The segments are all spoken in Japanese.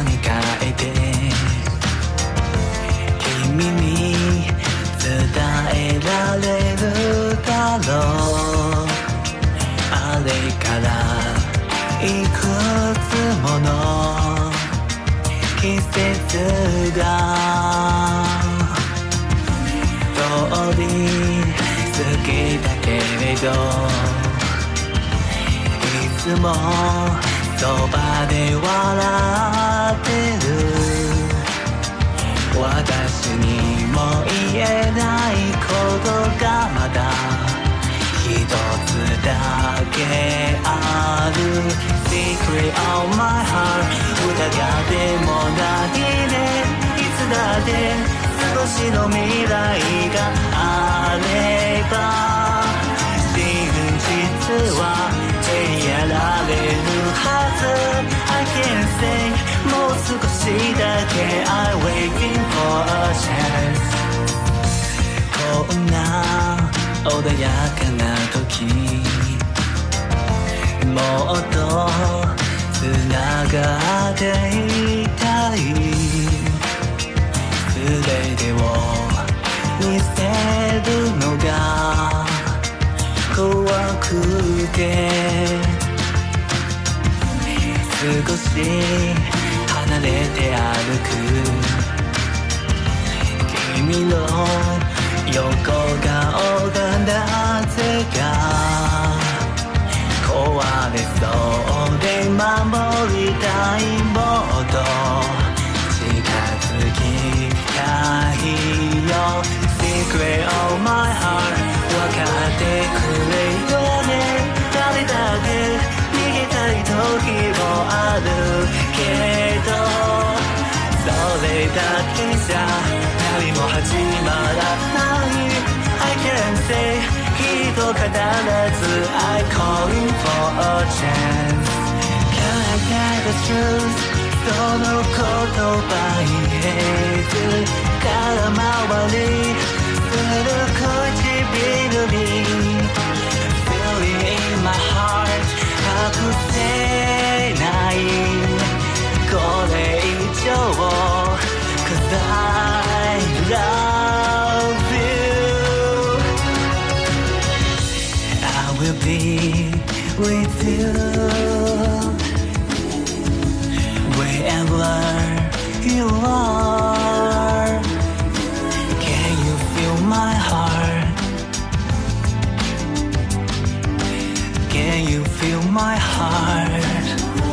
に変えて君に伝えられるだろう。あれからいくつもの季節が通り過ぎたけれど、いつもそばで笑ってる私にも言えないことがまだ一つだけある。 Secret of my heart 疑ってもないね。いつだって少しの未来があれば真実は手にやられるはず。 I can't say もう少しだけ I'm waiting for a chance。 こんな穏やかな時もっとつながっていたい。全てを見せるのが怖くて少し離れて歩く君の横顔がなぜか壊れそうで守りたい。もっと近づきたいよ。 Secret of my heart 分かってくれよね。誰だって逃げたい時もあるけど、それだけじゃ何も始まらない。 I can't say きっと必ず I calling for a chance。 Can I get the truth その言葉言えず空回りする唇に Feeling in my heart 隠せないこれ以上 Cause I love you I will be with you wherever you are. Can you feel my heart? Can you feel my heart?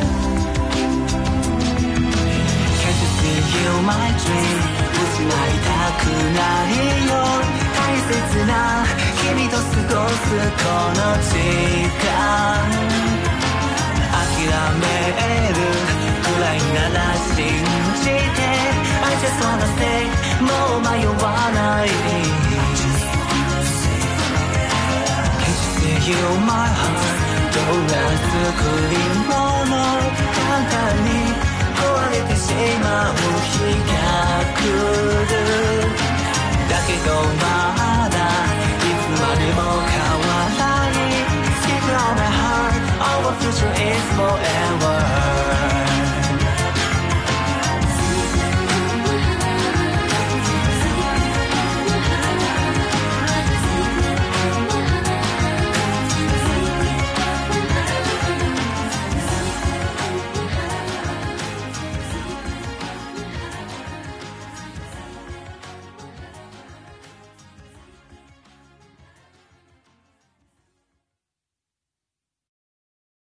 Can't you feel my dream? 失いたくないよ。大切な君と過ごすこの時間諦めるくらいなら信じて I just wanna say もう迷わない。 Can't you feel my heart どんな作り物簡単に壊れてしまう日が来る。だけど